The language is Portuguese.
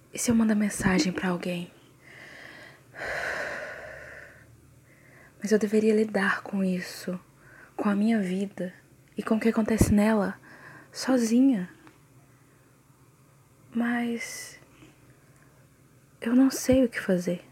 E se eu mandar mensagem pra alguém? Mas eu deveria lidar com isso, com a minha vida e com o que acontece nela, sozinha. Mas eu não sei o que fazer.